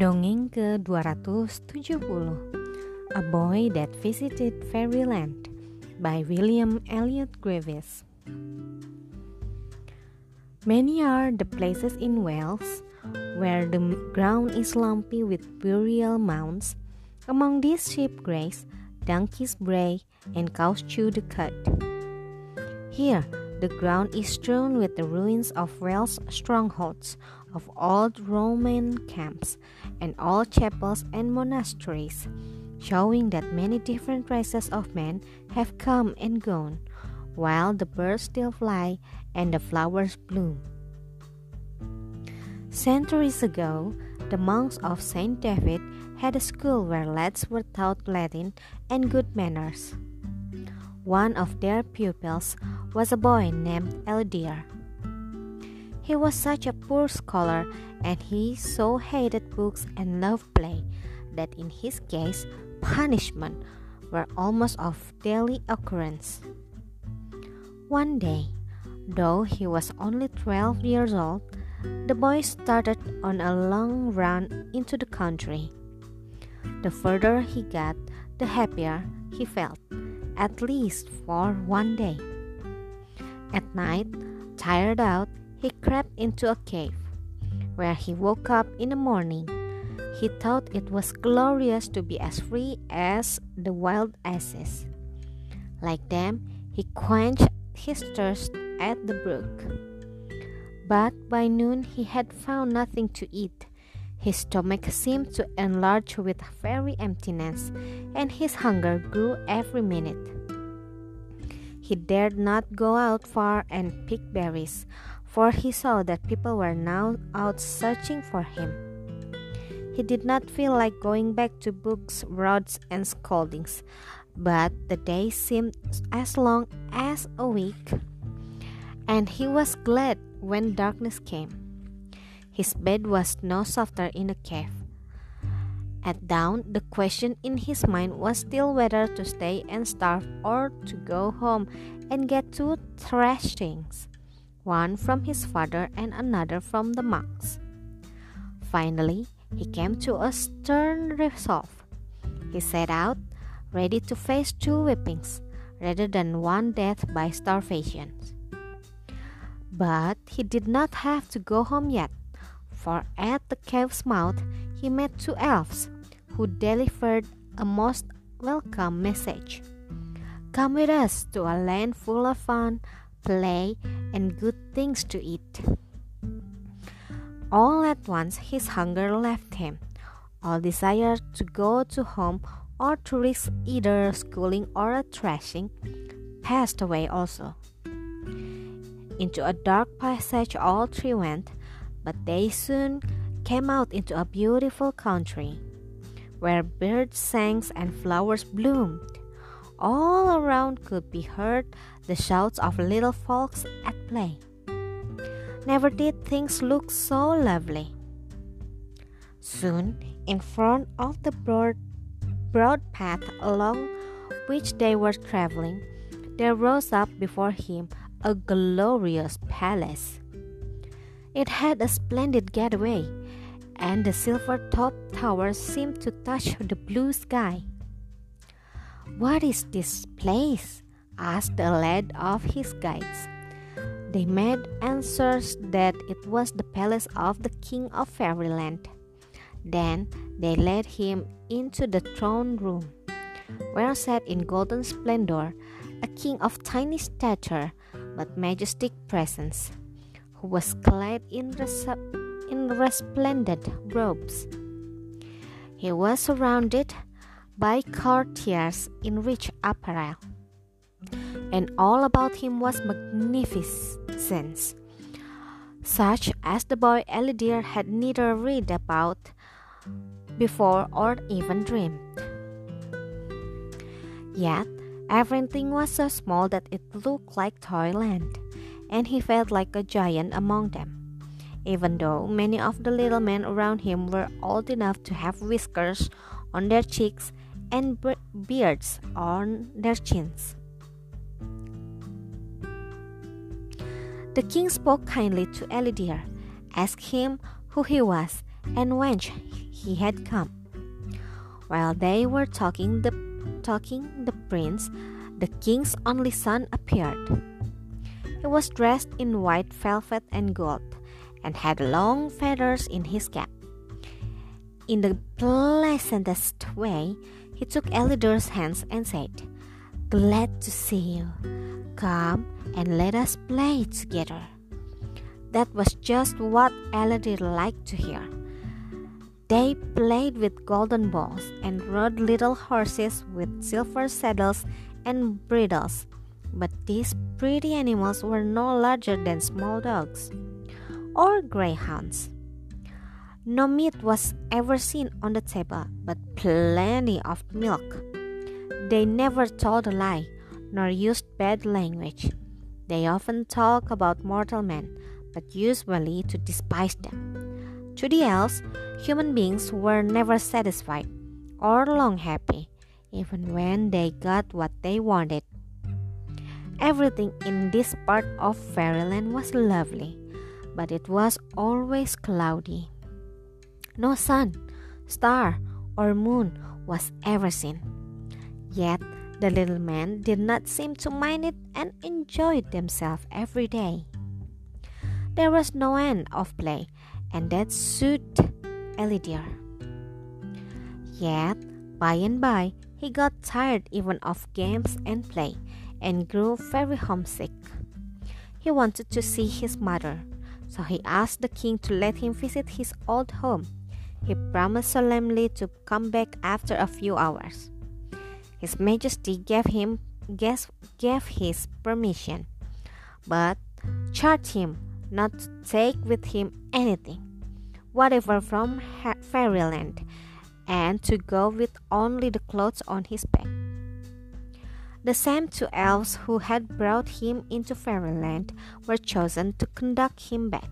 Dongeng ke-270, A Boy That Visited Fairyland by William Elliot Graves. Many are the places in Wales where the ground is lumpy with burial mounds. Among these sheep graze, donkeys bray, and cows chew the cud. Here, the ground is strewn with the ruins of Welsh strongholds, of old Roman camps, and old chapels and monasteries, showing that many different races of men have come and gone, while the birds still fly and the flowers bloom. Centuries ago, the monks of Saint David had a school where lads were taught Latin and good manners. One of their pupils was a boy named Eldir. He was such a poor scholar, and he so hated books and loved play that in his case punishment were almost of daily occurrence. One day, though he was only 12 years old, the boy started on a long run into the country. The further he got, the happier he felt, at least for one day. At night, tired out, he crept into a cave, where he woke up in the morning. He thought it was glorious to be as free as the wild asses. Like them, he quenched his thirst at the brook. But by noon he had found nothing to eat. His stomach seemed to enlarge with very emptiness, and his hunger grew every minute. He dared not go out far and pick berries, for he saw that people were now out searching for him. He did not feel like going back to books, rods, and scoldings, but the day seemed as long as a week, and he was glad when darkness came. His bed was no softer in the cave. At dawn, the question in his mind was still whether to stay and starve or to go home and get 2 thrashings, one from his father and another from the monks. Finally, he came to a stern resolve. He set out, ready to face 2 whippings, rather than one death by starvation. But he did not have to go home yet, for at the cave's mouth he met 2 elves, who delivered a most welcome message. "Come with us to a land full of fun, play, and good things to eat." All at once his hunger left him. All desire to go to home or to risk either schooling or a thrashing passed away also. Into a dark passage all 3 went, but they soon came out into a beautiful country, where birds sang and flowers bloomed. All around could be heard the shouts of little folks at play. Never did things look so lovely. Soon, in front of the broad path along which they were traveling, there rose up before him a glorious palace. It had a splendid gateway, and the silver-topped towers seemed to touch the blue sky. "What is this place?" asked the lad of his guides. They made answers that it was the palace of the king of Fairyland. Then they led him into the throne room, where sat in golden splendor a king of tiny stature but majestic presence, who was clad in resplendent robes. He was surrounded by courtiers in rich apparel, and all about him was magnificence, such as the boy Eldir had neither read about before or even dreamed. Yet everything was so small that it looked like toyland, and he felt like a giant among them, even though many of the little men around him were old enough to have whiskers on their cheeks and beards on their chins. The king spoke kindly to Eldir, asked him who he was, and whence he had come. While they were talking, the prince, the king's only son, appeared. He was dressed in white velvet and gold, and had long feathers in his cap. In the pleasantest way, he took Elidir's hands and said, "Glad to see you. Come and let us play together." That was just what Elidir liked to hear. They played with golden balls and rode little horses with silver saddles and bridles. But these pretty animals were no larger than small dogs or greyhounds. No meat was ever seen on the table, but plenty of milk. They never told a lie, nor used bad language. They often talked about mortal men, but usually to despise them. To the elves, human beings were never satisfied or long happy, even when they got what they wanted. Everything in this part of fairyland was lovely, but it was always cloudy. No sun, star, or moon was ever seen. Yet the little men did not seem to mind it and enjoyed themselves every day. There was no end of play, and that suited Elidir. Yet, by and by, he got tired even of games and play, and grew very homesick. He wanted to see his mother, so he asked the king to let him visit his old home. He promised solemnly to come back after a few hours. His Majesty gave his permission, but charged him not to take with him anything, whatever from fairyland, and to go with only the clothes on his back. The same two elves who had brought him into fairyland were chosen to conduct him back.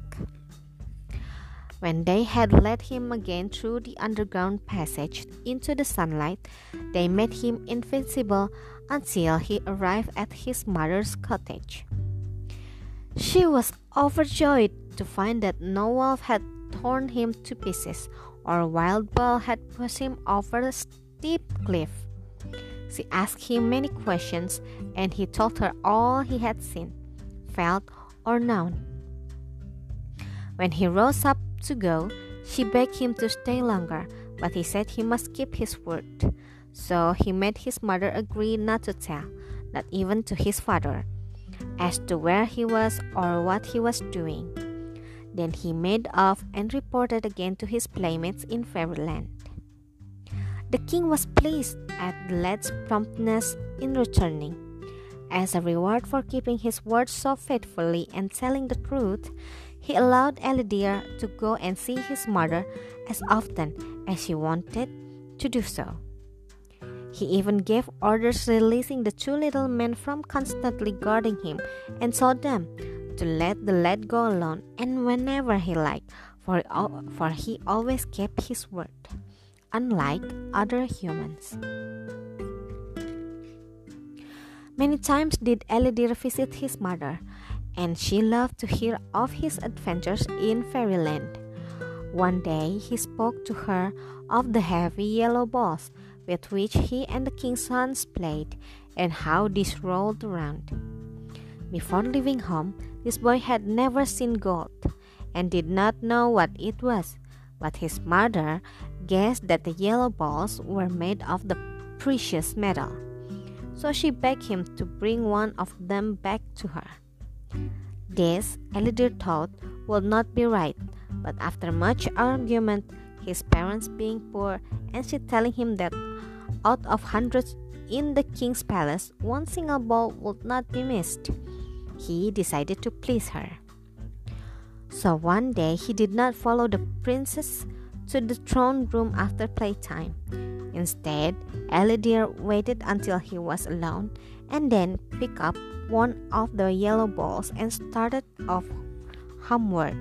When they had led him again through the underground passage into the sunlight, they made him invisible until he arrived at his mother's cottage. She was overjoyed to find that no wolf had torn him to pieces, or wild boar had pushed him over a steep cliff. She asked him many questions, and he told her all he had seen, felt, or known. When he rose up to go, she begged him to stay longer, but he said he must keep his word. So he made his mother agree not to tell, not even to his father, as to where he was or what he was doing. Then he made off and reported again to his playmates in fairyland. The king was pleased at the lad's promptness in returning. As a reward for keeping his word so faithfully and telling the truth, he allowed Elidir to go and see his mother as often as he wanted to do so. He even gave orders releasing the two little men from constantly guarding him, and told them to let the lad go alone and whenever he liked, for he always kept his word, unlike other humans. Many times did Elidir visit his mother, and she loved to hear of his adventures in fairyland. One day he spoke to her of the heavy yellow balls with which he and the king's sons played, and how these rolled around. Before leaving home, this boy had never seen gold, and did not know what it was, but his mother guessed that the yellow balls were made of the precious metal. So she begged him to bring one of them back to her. This Elidir thought would not be right, but after much argument, his parents being poor and she telling him that out of hundreds in the king's palace, one single ball would not be missed, he decided to please her. So one day he did not follow the princess to the throne room after playtime. Instead, Elidir waited until he was alone and then picked up one of the yellow balls and started off homeward.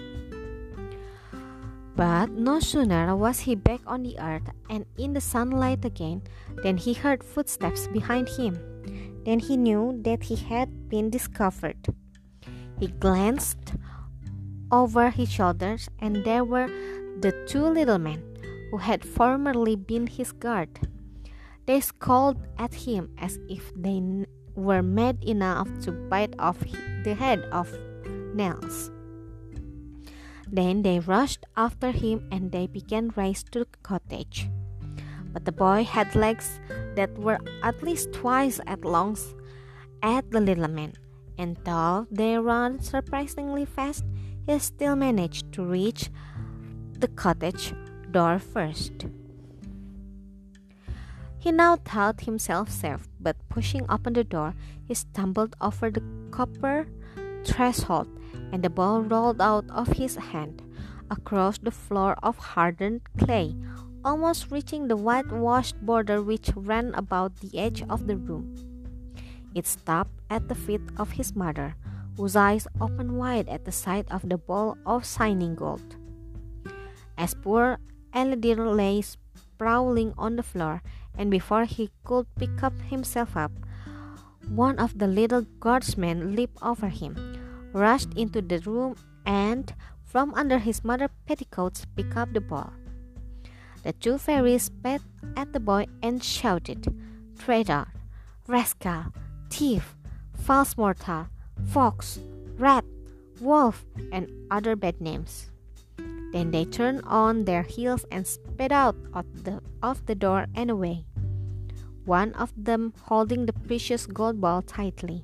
But no sooner was he back on the earth and in the sunlight again than he heard footsteps behind him. Then he knew that he had been discovered. He glanced over his shoulders, and there were the two little men who had formerly been his guard. They scowled at him as if they were mad enough to bite off the head of Nels. Then they rushed after him and they began race to the cottage. But the boy had legs that were at least twice as long as the little man, and though they ran surprisingly fast, he still managed to reach the cottage door first. He now thought himself safe, but pushing open the door, he stumbled over the copper threshold, and the ball rolled out of his hand across the floor of hardened clay, almost reaching the whitewashed border which ran about the edge of the room. It stopped at the feet of his mother, whose eyes opened wide at the sight of the ball of shining gold. As poor Elidar lay sprawling on the floor, and before he could pick himself up, one of the little guardsmen leaped over him, rushed into the room, and from under his mother's petticoats picked up the ball. The two fairies spat at the boy and shouted, "Traitor, rascal, thief, false mortal, fox, rat, wolf," and other bad names. Then they turned on their heels and sped out of the door and away, one of them holding the precious gold ball tightly.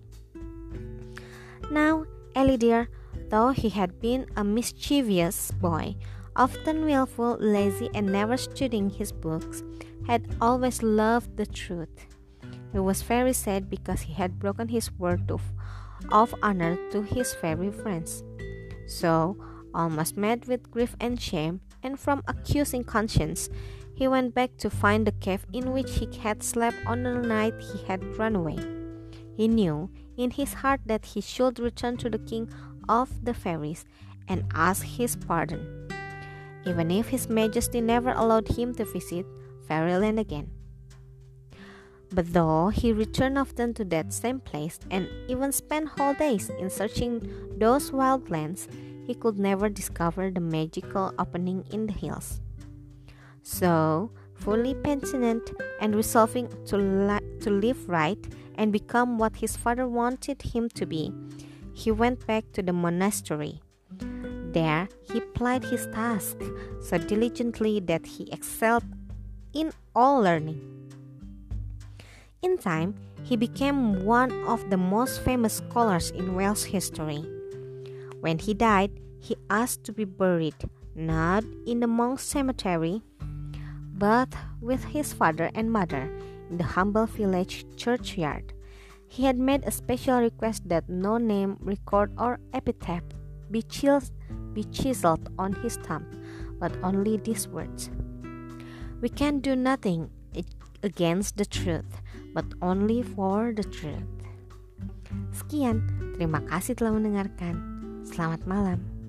Now Elidar, though he had been a mischievous boy, often willful, lazy, and never studying his books, had always loved the truth. He was very sad because he had broken his word of honor to his fairy friends. So, almost mad with grief and shame, and from accusing conscience, he went back to find the cave in which he had slept on the night he had run away. He knew in his heart that he should return to the king of the fairies and ask his pardon, even if his majesty never allowed him to visit Fairyland again. But though he returned often to that same place and even spent whole days in searching those wild lands, he could never discover the magical opening in the hills. So, fully penitent and resolving to live right and become what his father wanted him to be, he went back to the monastery. There, he plied his task so diligently that he excelled in all learning. In time, he became one of the most famous scholars in Welsh history. When he died, he asked to be buried not in the monks' cemetery, but with his father and mother in the humble village churchyard. He had made a special request that no name, record, or epitaph be chiseled on his tomb, but only these words: "We can do nothing against the truth, but only for the truth." Sekian, terima kasih telah mendengarkan. Selamat malam.